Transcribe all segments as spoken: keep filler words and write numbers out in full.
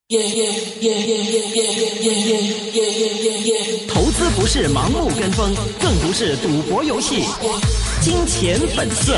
投資不是盲目跟風，更不是賭博遊戲。金錢本色。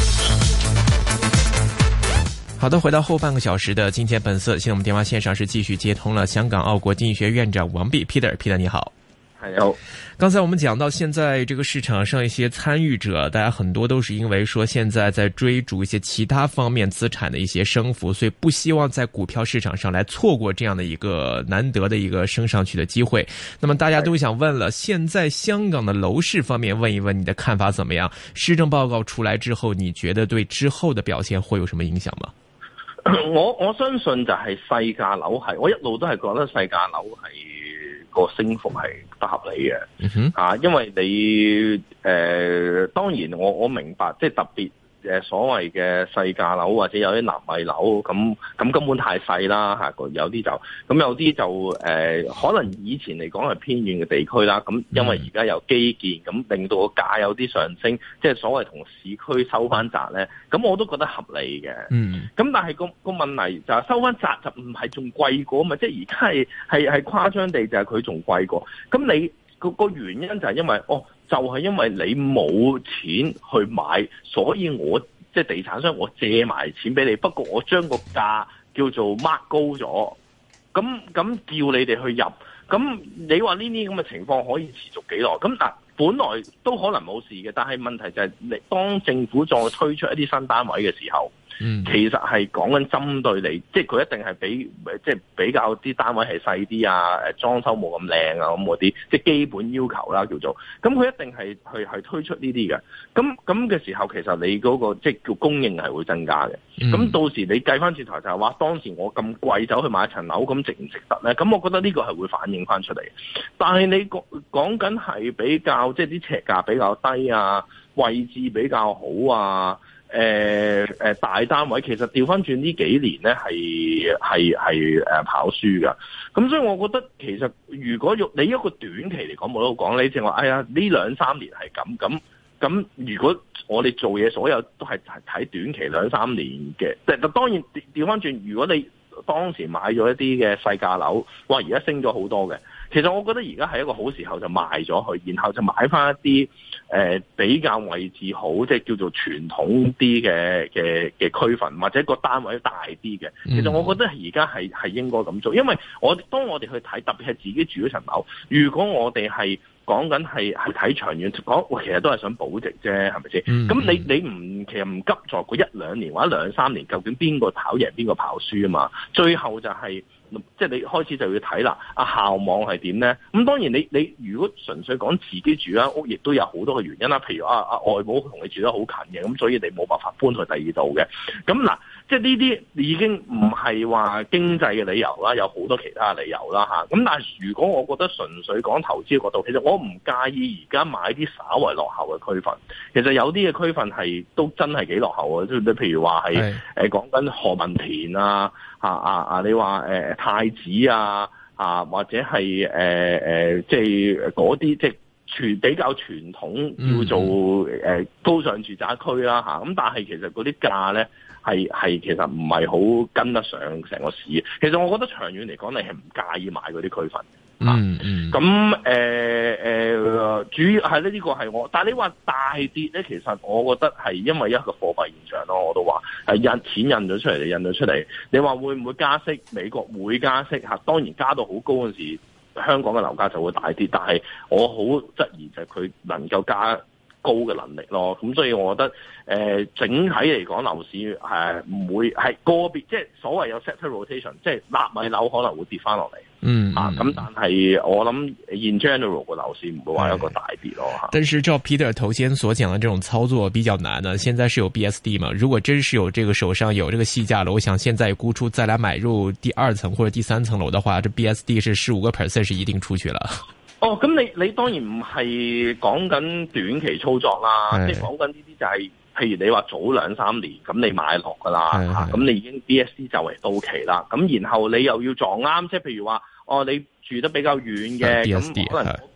好的，回到後半個小時的金錢本色，現在我們電話線上是繼續接通了香港奧國經濟學院長王弼 Peter，Peter 你好。 好， 剛才我們講到現在這個市場上一些參與者，大家很多都是因為說現在在追逐一些其他方面資產的一些升幅，所以不希望在股票市場上來錯過這樣的一個難得的一個升上去的機會。那麼大家都想問了，現在香港的樓市方面，問一問你的看法怎麼樣？施政報告出來之後，你覺得對之後的表現會有什麼影響嗎？ 我我相信就係細價樓係，我一路都係覺得細價樓係個升幅係不合理嘅，嗯哼啊，因為你誒、呃，當然我我明白，即係特別誒所謂嘅細價樓或者有啲納米樓，咁咁根本太細啦嚇，有啲就咁有啲就誒、呃，可能以前嚟講係偏遠嘅地區啦，咁因為而家有基建，咁令到個價有啲上升，即係所謂同市區收翻窄咧，咁我都覺得合理嘅。嗯，咁但係個個問題就係收翻窄就唔係仲貴過嘛，即係而家係係係誇張地就係佢仲貴過，咁你個個原因就係因為哦。就係因為你冇錢去買，所以我即係地產商，我借埋錢俾你。不過我將個價叫做 mark 高咗，咁咁叫你哋去入。咁你話呢啲咁嘅情況可以持續幾耐？咁嗱，本來都可能冇事嘅，但係問題就係你當政府再推出一啲新單位嘅時候。嗯，其實係講緊針對你，即係佢一定係比即係比較啲單位係細啲啊，誒裝修冇咁靚啊咁嗰啲，即係基本要求啦叫做。咁佢一定係去係推出呢啲嘅。咁咁嘅時候，其實你嗰個即係叫供應係會增加嘅。咁、嗯、到時你計翻轉頭就係話，當時我咁貴走去買一層樓，咁值唔值得咧？咁我覺得呢個係會反映翻出嚟。但係你講講緊係比較即係啲尺價比較低啊，位置比較好啊。誒、呃、誒、呃、大單位其實調翻轉呢幾年咧係係係誒跑輸㗎，咁所以我覺得其實如果用你一個短期嚟講冇得講，你淨話哎呀呢兩三年係咁咁咁，如果我哋做嘢所有都係睇短期兩三年嘅，即係當然調翻轉，如果你當時買咗一啲嘅細價樓，哇而家升咗好多嘅。其實我覺得而家係一個好時候就賣咗佢，然後就買翻一啲誒、呃、比較位置好，即係叫做傳統啲嘅嘅嘅區份，或者個單位大啲嘅。其實我覺得而家係係應該咁做，因為我當我哋去睇，特別係自己住嗰層樓，如果我哋係講緊係係睇長遠講，其實都係想保值啫，係咪先？咁、嗯、你你唔其實唔急在嗰一兩年或者兩三年，究竟邊個跑贏邊個跑輸啊嘛？最後就係、是。即係你開始就要睇啦，啊校網係點咧？咁當然你你如果純粹講自己住間屋，亦都有好多嘅原因啦。譬如啊啊外母同你住得好近嘅，咁所以你冇辦法搬去第二度嘅。咁嗱，即係呢啲已經唔係話經濟嘅理由啦，有好多其他理由啦嚇。咁但係如果我覺得純粹講投資嘅角度，其實我唔介意而家買啲稍為落後嘅區份。其實有啲嘅區份係都真係幾落後啊！即係譬如話係誒講緊何文田啊。啊啊啊！你話誒、呃、太子啊啊，或者係誒誒，即係嗰啲即係傳比較傳統叫做誒、呃、高尚住宅區啦嚇。咁、啊、但係其實嗰啲價咧係係其實唔係好跟得上成個市。其實我覺得長遠嚟講，你係唔介意買嗰啲區份。嗯嗯，咁誒誒，主要係咧呢個係我，但係你話大跌咧，其實我覺得係因為一個貨幣現象咯，我都話係印錢印咗出嚟，印咗出嚟。你話會唔會加息？美國會加息嚇，當然加到好高嗰陣時，香港嘅樓價就會大跌。但係我好質疑就係佢能夠加高嘅能力咯。咁所以我覺得誒、呃、整體嚟講樓市係唔會係個別，即係所謂有 sector rotation，即係納米樓可能會跌翻落嚟。嗯啊，咁但係我諗 in general 個樓市唔會話一個大跌咯吓。 但是照 Peter 頭先所講的這種操作比較難呢，現在是有 B S D 嘛？如果真是有這個手上有這個細價樓，想現在沽出再來買入第二層或者第三層樓的話，這 B S D 是十五個 percent 是一定出去了。 哦，咁你你當然唔係講緊短期操作啦，即係講緊呢啲就係、是。譬如你話早兩三年咁你買落㗎啦，咁你已經 B S D 就嚟到期啦，咁然後你又要撞啱，即係譬如話，哦你住得比較遠嘅，咁可能嗰邊嗰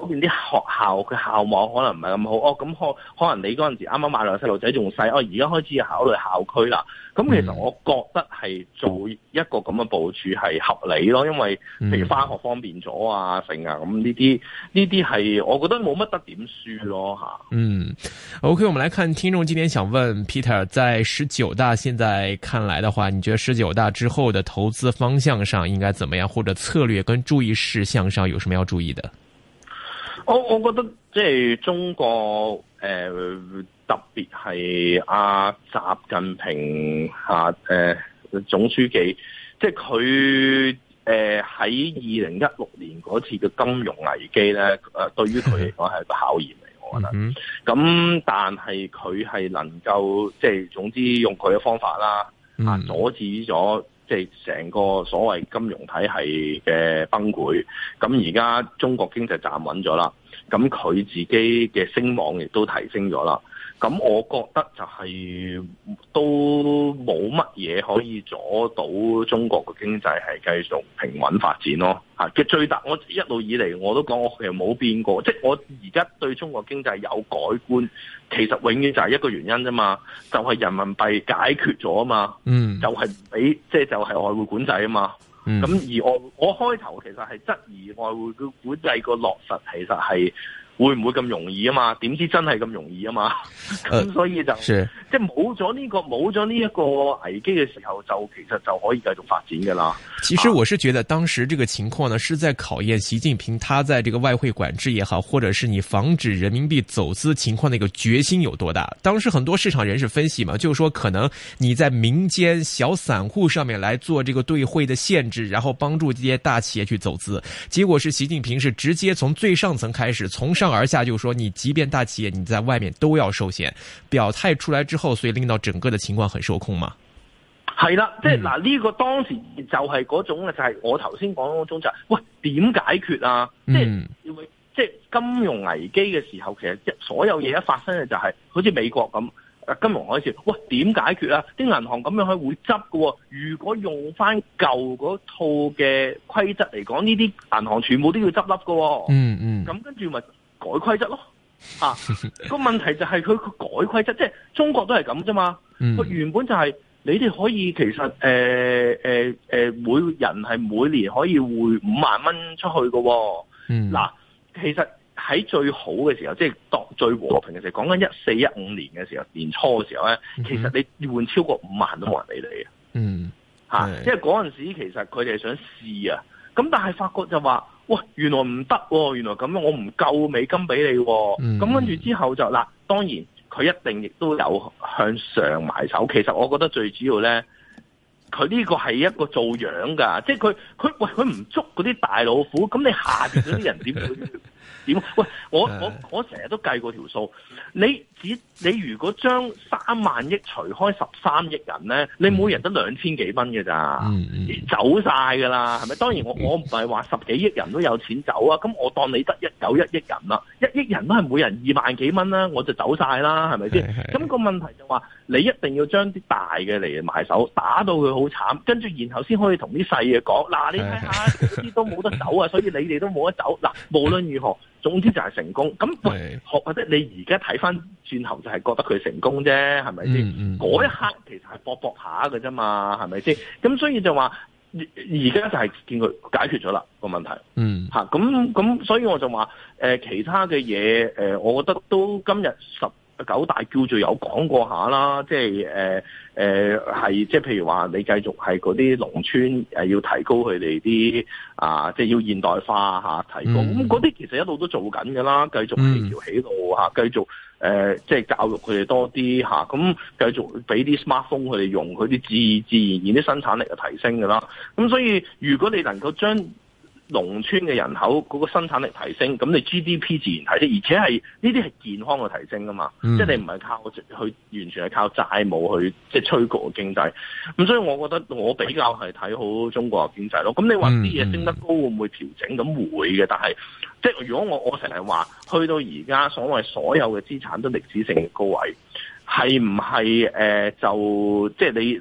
嗰邊啲學校嘅校網可能唔係咁好，哦咁可可能你嗰陣時啱啱買落細路仔仲細，哦而家開始考慮校區啦。咁其實我覺得係做一個咁嘅部署係合理咯，因為譬如返學方便咗啊，成啊咁呢啲呢啲係我覺得冇乜得點輸咯吓。 嗯 ，OK， 我們來看聽眾今天想問 Peter， 在十九大現在看來的話，你覺得十九大之後的投資方向上應該怎麼樣，或者策略跟注意事項上有什麼要注意的？ 我我覺得即係中國誒、呃、特別係阿習近平嚇誒、呃、總書記，即係佢誒喺二零一六年嗰次嘅金融危機咧，誒、呃、對於佢嚟講係個考驗嚟，我覺得。咁、嗯、但係佢係能夠即係總之用佢嘅方法啦，啊阻止咗。即係成個所謂金融體系嘅崩潰，咁而家中國經濟站穩咗啦，咁佢自己嘅聲望亦都提升咗啦，咁我覺得就係都冇乜嘢可以阻到中國嘅經濟係繼續平穩發展咯。嚇嘅最大，我一路以嚟我都講我其實冇變過，即係我而家對中國經濟有改觀，其實永遠就係一個原因啫嘛，就係、是、人民幣解決咗啊嘛，嗯，就係唔俾即係就係、是、外匯管制啊嘛，咁、嗯、而我我開頭其實係質疑外匯嘅管制個落實其實係會唔會咁容易啊嘛？點知真係咁容易啊嘛？咁所以就、呃、即係冇咗呢個冇咗呢一個危機嘅時候，就其實就可以繼續發展噶啦。 其實我是覺得當時這個情況呢，是在考驗習近平他在這個外匯管制也好，或者是你防止人民幣走資情況的一個決心有多大。當時很多市場人士分析嘛，就是說可能你在民間小散戶上面來做這個兌匯的限制，然後幫助這些大企業去走資。結果是習近平是直接從最上層開始，從上而下就說你即便大企業你在外面都要受限，表態出來之後，所以令到整個的情況很受控嘛。 係啦，即係嗱呢個當時就係嗰種就係、是、我頭先講嗰種就係、是，喂點解決啊？嗯、即係即係金融危機嘅時候，其實所有嘢一發生嘅就係、是，好似美國咁，金融海嘯，喂點解決啊？啲銀行咁樣係會執嘅，如果用翻舊嗰套嘅規則嚟講，呢啲銀行全部都要執笠嘅。嗯嗯，咁跟住咪改規則咯。啊，個問題就係佢佢改規則，即係中國都係咁啫嘛。佢、嗯、原本就係、是。你哋可以其實誒誒誒，每人係每年可以匯五萬蚊出去嘅、哦。嗯，嗱，其實喺最好嘅時候，即係當最和平嘅時候，講緊一四一五年嘅時候，年初嘅時候咧，嗯、其實你換超過五萬都冇人理你嘅。嗯，嚇、啊，因為嗰陣時其實佢哋係想試啊，咁但係發覺就話，喂，原來唔得喎，原來咁樣我唔夠美金俾你喎、哦。咁、嗯、跟住之後就嗱，當然。佢一定亦都有向上埋手，其實我覺得最主要咧，佢呢個係一個做樣㗎，即係佢佢喂佢唔捉嗰啲大老虎，咁你下邊嗰啲人點會點？喂，我我我成日都計過條數，你只你如果將三萬億除開十三億人咧，你每人得兩千幾蚊嘅咋，嗯嗯、走晒㗎啦，係咪？當然我我唔係話十幾億人都有錢走啊，咁我當你得一有一億人啦，一億人都係每人二萬幾蚊啦，我就走晒啦，係咪先？咁個問題就話你一定要將啲大嘅嚟埋手，打到佢好慘，跟住然後先可以同啲細嘅講，嗱你睇下嗰啲都冇得走啊，所以你哋都冇得走。嗱，無論如何。總之就係成功，咁喂，或者你而家睇翻轉頭就係覺得佢成功啫，係咪先？嗰、嗯嗯、一刻其實係搏搏下嘅啫嘛，係咪先？咁所以就話而家就係見佢解決咗啦個問題，嗯嚇，咁咁所以我就話誒、呃、其他嘅嘢誒，我覺得都今日十九大叫做有講過下啦，即係誒誒係即係譬如話你繼續係嗰啲農村誒要提高佢哋啲啊，即係要現代化嚇、啊、提高，咁嗰啲其實一路都做緊㗎啦，繼續起橋起路嚇、啊，繼續誒、呃、即係教育佢哋多啲嚇，咁、啊、繼續俾啲 smartphone 佢哋用，佢啲自自然然啲生產力就提升㗎啦，咁所以如果你能夠將農村嘅人口嗰個生產力提升，咁你 G D P 自然提升，而且係呢啲係健康嘅提升㗎嘛，嗯、即係你唔係靠去完全係靠債務去即係催谷個經濟。咁所以我覺得我比較係睇好中國嘅經濟咯。咁你話啲嘢升得高會唔會調整？咁會嘅，但係即係如果我我成日話去到而家所謂所有嘅資產都歷史性嘅高位，係唔係誒就即係你你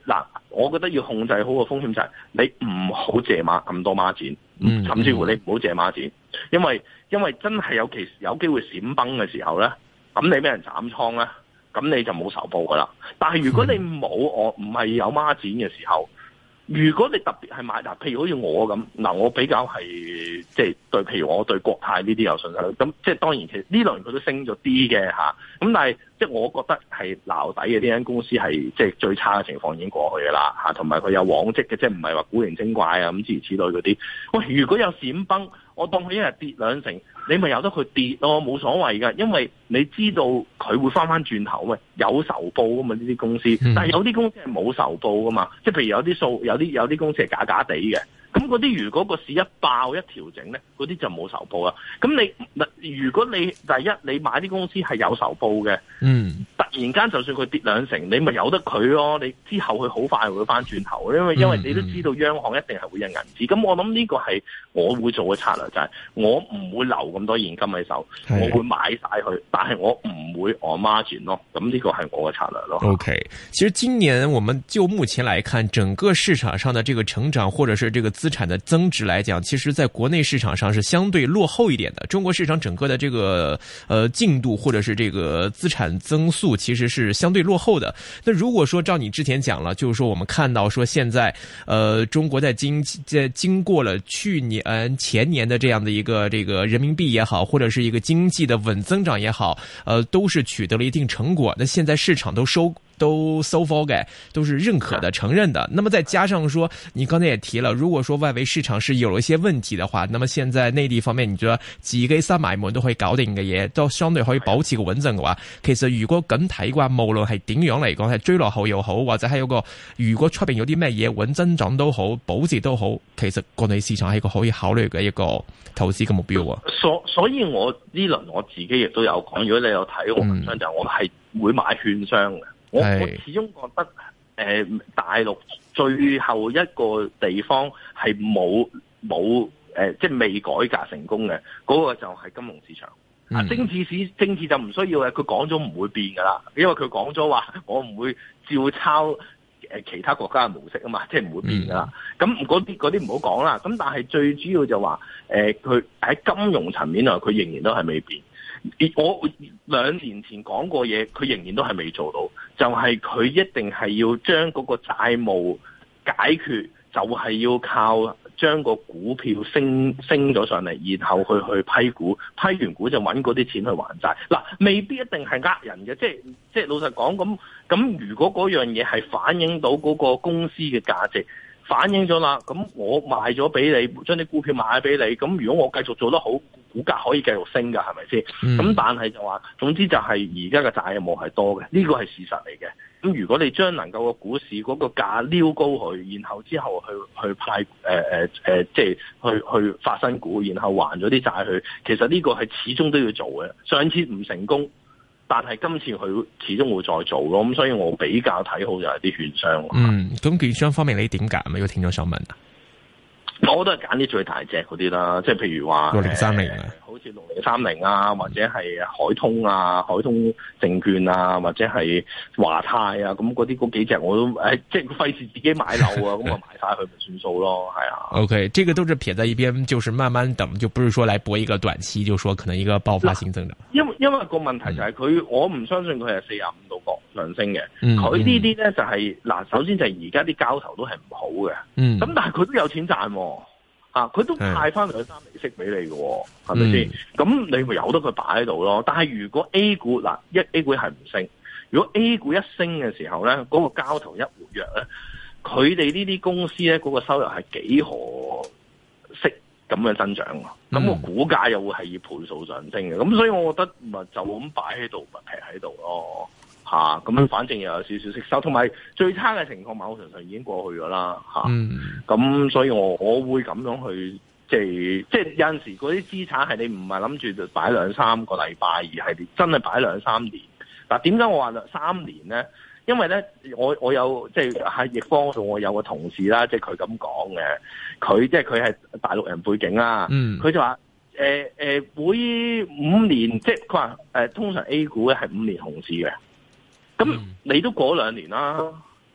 嗱，我覺得要控制好個風險就係你唔好借孖咁多孖展，嗯、甚至乎你唔好借孖展，因為因為真係有其有機會閃崩嘅時候咧，咁你俾人斬倉咧，咁你就冇仇報噶啦。但係如果你冇我唔係有孖展嘅時候，如果你特別係買嗱，譬如好似我咁嗱，我比較係即係對，譬如我對國泰呢啲有信心，咁即係當然其實呢輪佢都升咗啲嘅嚇，咁但係即係我覺得係撈底嘅呢間公司係即係最差嘅情況已經過去嘅啦嚇，同埋佢有往績嘅，即係唔係話古靈精怪啊咁諸如此類嗰啲。喂，如果有閃崩，我當佢一日跌兩成，你咪由得佢跌咯，冇所謂㗎，因為你知道佢會翻翻轉頭，喂，有仇報㗎嘛呢啲公司，但係有啲公司係冇仇報㗎嘛，即係譬如有啲數有啲有啲公司係假假地嘅，咁嗰啲如果個市一爆一調整咧，嗰啲就冇仇報啦。咁你如果你第一你買啲公司係有仇報嘅，嗯，突然間就算佢跌兩成，你咪由得佢咯，你之後佢好快會翻轉頭，因為因為你都知道央行一定係會印銀紙，咁我諗呢個係我會做嘅策略，就係我唔會留咁多現金喺手，我會買晒佢，但係我唔會on margin咯，咁呢個係我嘅策略咯。 OK， 其實今年我們就目前來看，整個市場上的這個成長，或者是這個資產的增值來講，其實在國內市場上是相對落後一點的。中國市場整個的這個呃進度，或者是這個資產增速，其實是相對落後的。那如果說照你之前講了，就是說我們看到說現在呃中國在經在經過了去年前年的這樣的一個這個人民幣也好，或者是一個經濟的穩增長也好，呃都是取得了一定成果。那現在市場都收都收貨嘅，都是認可的、承認的。那麼再加上說，你剛才也提了，如果說外圍市場是有一些問題的話，那麼現在內地方面，你覺得自己閂埋門都可以搞定嘅嘢，都相對可以保持個穩陣嘅話，其實如果咁睇嘅話，無論係點樣嚟講，係追落後又好，或者係有個如果出邊有啲咩嘢穩增長都好，保值都好，其實國內市場係一個可以考慮嘅一個投資嘅目標啊。 所所以我呢輪我自己亦都有講，如果你有睇我文章，就我係會買券商嘅。我我始終覺得，誒、呃、大陸最後一個地方係冇冇誒，即係未改革成功嘅，嗰、那個就係金融市場。啊、嗯，政治市政治就唔需要嘅，佢講咗唔會變噶啦，因為佢講咗話，我唔會照抄誒其他國家嘅模式啊嘛，即係唔會變噶啦。咁嗰啲嗰啲唔好講啦。咁但係最主要就話，誒佢喺金融層面啊，佢仍然都係未變。我兩年前講過嘢，佢仍然都係未做到，就係、是、佢一定係要將嗰個債務解決，就係、是、要靠將個股票升升咗上嚟，然後去去批股，批完股就揾嗰啲錢去還債。嗱，未必一定係呃人嘅，即係即係老實講，咁咁如果嗰樣嘢係反映到嗰個公司嘅價值，反映咗啦，咁我賣咗俾你，將啲股票賣咗俾你，咁如果我繼續做得好，股價可以繼續升㗎，係咪先？咁、嗯、但係就話，總之就係而家嘅債務係多嘅，呢個係事實嚟嘅。咁如果你將能夠個股市嗰個價撩高佢，然後之後去去派誒誒誒，即係去去發新股，然後還咗啲債去，其實呢個係始終都要做嘅。上次唔成功，但係今次佢始終會再做咯。咁所以我比較睇好就係啲券商。 嗯，咁券商方面你點揀啊？要聽咗想問啊？ 我都係揀啲最大隻嗰啲啦，即係譬如話六零三零啊，好似六零三零啊，或者係海通啊、海通證券啊，或者係華泰啊，咁嗰啲嗰幾隻我都誒，即係費事自己買樓啊，咁啊買晒佢咪算數咯，係啊。OK， 這個都是撇在一邊，就是慢慢等，就不是說來搏一個短期，就說可能一個爆發性增長。 因為因為個問題就係佢、嗯，我唔相信佢係四十五度角上升嘅。佢呢啲咧就係、是、嗱，首先就係而家啲交投都係唔好嘅。嗯。咁但係佢都有錢賺喎。啊！佢都派翻兩三厘息俾你嘅，係咪先？咁、嗯、你咪由得佢擺喺度咯。但係如果 A 股嗱一 A 股係唔升，如果 A 股一升嘅時候咧，嗰、那個交投一活躍咧，佢哋呢啲公司咧嗰、那個收入係幾何式咁嘅增長。咁、嗯、個股價又會係以倍數上升嘅。咁所以我覺得咪就咁擺喺度，咪劈喺度咯。吓、啊，咁樣反正又有少少息收，同埋最差嘅情況某程度上已經過去咗啦。吓、啊，咁、嗯、所以我我會咁樣去，即係即係有陣時嗰啲資產係你唔係諗住就擺兩三個禮拜，而係你真係擺兩三年。嗱、啊，點解我話兩三年咧？因為咧，我我有即係喺易方度，我有個同事啦，即係佢咁講嘅，佢即係佢係大陸人背景啦，佢、嗯、就話誒誒會五年，即係佢話誒通常 A 股咧係五年熊市嘅。咁你都過兩年啦，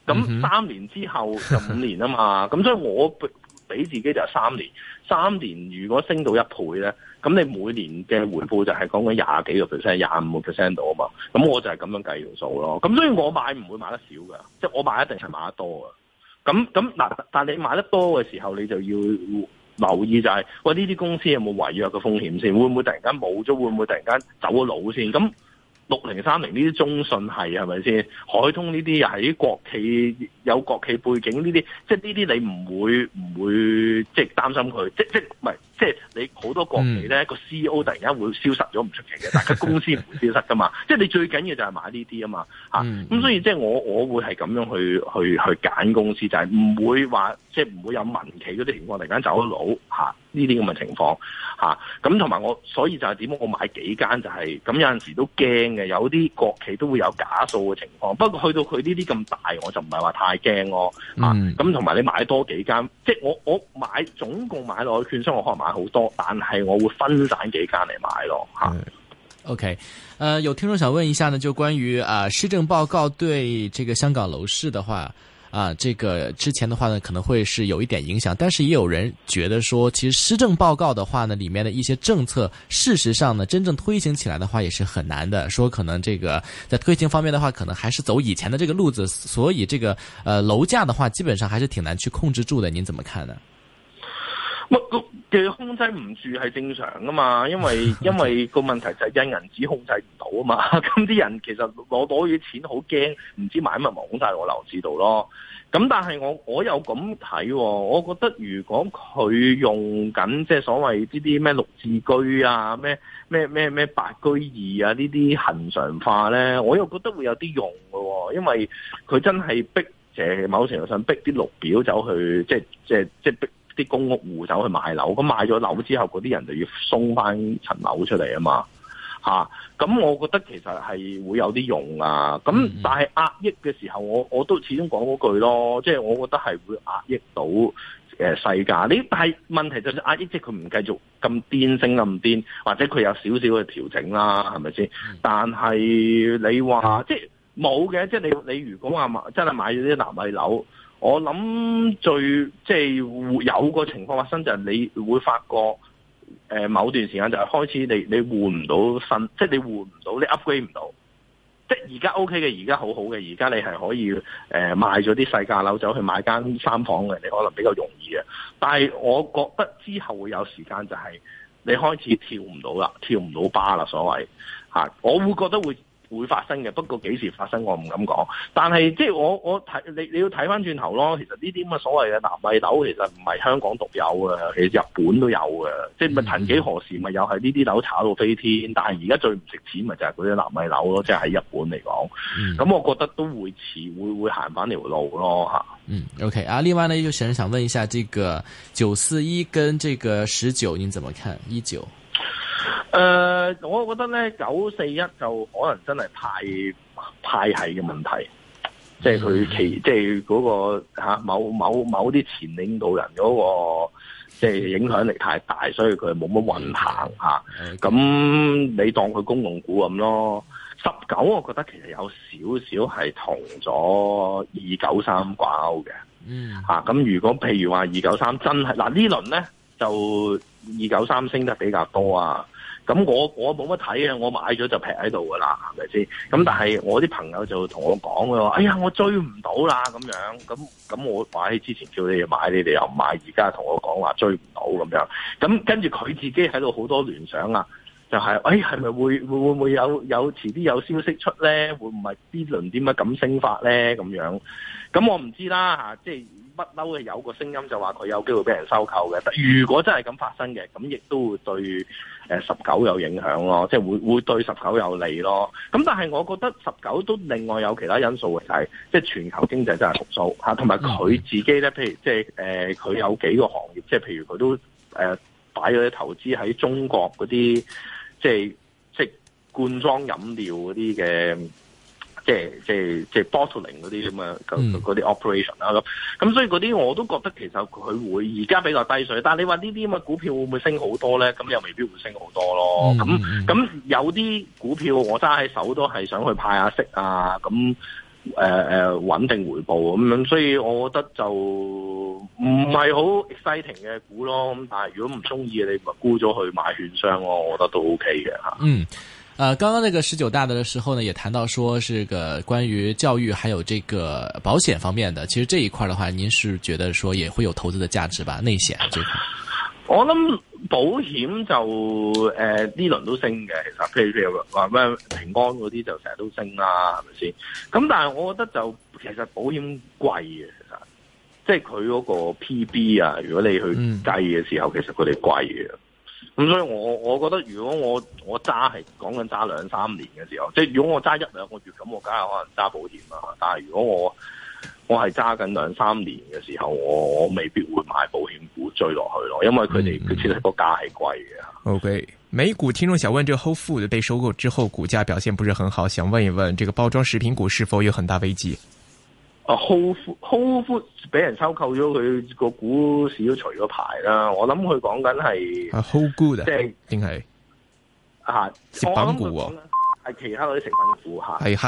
咁三年之後就五年啊嘛，咁所以我俾自己就係三年，三年如果升到一倍咧，咁你每年嘅回報就係講緊廿幾個 percent、廿五個 percent 度啊嘛，咁我就係咁樣計條數咯。咁所以我買唔會買得少㗎，即係我買一定係買得多㗎。咁咁嗱，但係你買得多嘅時候，你就要留意就係、是，喂呢啲公司有冇違約嘅風險先？會唔會突然間冇咗？會唔會突然間走咗佬先？咁六零三零呢啲中信係係咪先？海通呢啲又係啲國企有國企背景呢啲，即係呢啲你唔會唔會即係擔心佢？即即唔係即係你好多國企咧個 C E O 突然間會消失咗唔出奇嘅，但係公司唔會消失噶嘛。即係你最緊要就係買呢啲啊嘛嚇。咁、嗯、所以即係我我會係咁樣去去去揀公司，就係、是、唔會話即係唔會有民企嗰啲情況突然間走咗佬嚇呢啲咁嘅情況嚇。咁同埋我所以就係點解我買幾間就係、是、咁有陣時都驚嘅，有啲國企都會有假數嘅情況。不過去到佢呢啲咁大，我就唔係話太驚咯嚇。咁同埋你買多幾間，即係我我買總共買落去券商，我可能買好多，但係我會分散幾間嚟買咯嚇。 OK，呃，有聽眾想問一下呢，就關於啊、呃、施政報告對這個香港樓市的話。啊，這個之前的話呢，可能會是有一點影響，但是也有人覺得說，其實施政報告的話呢，裏面的一些政策，事實上呢，真正推行起來的話也是很難的。說可能這個在推行方面的話，可能還是走以前的這個路子，所以這個呃樓價的話，基本上還是挺難去控制住的。您怎麼看呢？ 乜嘅控制唔住係正常噶嘛，因為因為個問題就係印銀紙控制唔到啊嘛，咁啲人其實攞攞啲錢好驚，唔知買乜咪拱晒落樓市度咯。咁但係我我又咁睇，我覺得如果佢用緊即係所謂呢啲咩綠置居啊，咩咩咩咩白居二啊呢啲恆常化咧，我又覺得會有啲用喎，因為佢真係逼誒某程度上逼啲綠表走去，即係即係即係逼啲公屋戶走去買樓，咁買咗樓之後，嗰啲人就要鬆翻層樓出嚟啊嘛，嚇！咁我覺得其實係會有啲用啊，咁但係壓抑嘅時候，我我都始終講嗰句咯，即係我覺得係會壓抑到誒細價。你但係問題就係壓抑，即係佢唔繼續咁癲升咁癲，或者佢有少少嘅調整啦，係咪先？但係你話即係冇嘅，即係你你如果話買真係買咗啲納米樓。我諗最即係有個情況發生就係你會發覺，誒、呃、某段時間就係開始你你換唔到新，即係你換唔到，你 upgrade 唔到。即係而家 OK 嘅，而家好好嘅，而家你係可以誒、呃、賣咗啲細價樓走去買間三房嘅，你可能比較容易嘅。但係我覺得之後會有時間就係你開始跳唔到啦，跳唔到巴啦，所謂吓，我會覺得會。會發生嘅，不過幾時發生我唔敢講。但係即係我我睇你你要睇翻轉頭咯。其實呢啲咁嘅所謂嘅納米樓，其實唔係香港獨有嘅，其實日本都有嘅。即係咪曾幾何時咪又係呢啲樓炒到飛天？但係而家最唔值錢咪就係嗰啲納米樓咯。即係喺日本嚟講，咁、嗯、我覺得都會遲會會行翻條路咯吓。 嗯 ，OK 啊。另外呢，有人想問一下，這個九四一跟這個十九，您怎麼看？一九？ 誒、呃，我覺得咧九四一就可能真係派派系嘅問題，即係佢其即係嗰個吓、啊、某某某啲前領導人嗰、那個即係影響力太大，所以佢冇乜運行吓。咁、啊、你當佢公共股咁咯。十九我覺得其實有少少係同咗二九三掛鈎嘅。嗯。吓、啊、咁如果譬如話二九三真係嗱、啊、呢輪咧就二九三升得比較多啊。咁我我冇乜睇嘅，我買咗就劈喺度噶啦，係咪先？咁但係我啲朋友就同我講嘅話，哎呀，我追唔到啦咁樣。咁咁我話喺之前叫你哋買，你哋又唔買，而家同我講話追唔到咁樣。咁跟住佢自己喺度好多聯想啊，就係、是，哎，係咪會會會唔會有有遲啲有消息出咧？會唔會呢輪點解咁升法咧？咁樣，咁我唔知啦嚇，即係。不嬲嘅有個聲音就話佢有機會俾人收購嘅，但如果真係咁發生嘅，咁亦都會對誒十九有影響咯，即係會會對十九有利咯。咁但係我覺得十九都另外有其他因素嘅，就係即係全球經濟真係復甦嚇，同埋佢自己咧，譬如即係誒佢有幾個行業，即係譬如佢都誒擺咗啲投資喺中國嗰啲，即係即係罐裝飲料嗰啲嘅。即係即係即係 bottling 嗰啲咁嘅嗰啲 operation 啦，咁咁所以嗰啲我都覺得其實佢會而家比較低水，但係你話呢啲咁嘅股票會唔會升好多咧？咁又未必會升好多咯。咁咁有啲股票我揸喺手都係想去派下息啊，咁誒誒穩定回報咁樣，所以我覺得就唔係好 exciting 嘅股咯。咁但係如果唔中意，你咪沽咗去買券商咯，我覺得都 OK 嘅吓。 嗯。呃，剛剛那個十九大的時候呢，也談到說是個關於教育還有這個保險方面的。其實這一塊的話，您是覺得說也會有投資的價值吧？內險這塊， 我諗保險就誒呢、呃、輪都升嘅，其實譬如譬如話咩平安嗰啲就成日都升啦，係咪先？咁但係我覺得就其實保險貴嘅，其實即係佢嗰個 P B 啊，如果你去計嘅時候，嗯、其實佢哋貴嘅。咁所以我我覺得如果我我揸係講緊揸兩三年嘅時候，即係如果我揸一兩個月咁，我梗係可能揸保險啦。但係如果我我係揸緊兩三年嘅時候，我我未必會買保險股追落去咯，因為佢哋佢其實個價係貴嘅。 OK，美股聽眾想問，這個 Whole Food 被收購之後，股價表現不是很好，想問一問，這個包裝食品股是否有很大危機？ 啊 Whole Food Whole Food 俾人收購咗，佢個股市都除咗牌啦。我諗佢講緊係啊 Whole Good 即係定係啊食品股喎， 係其他嗰啲食品股吓。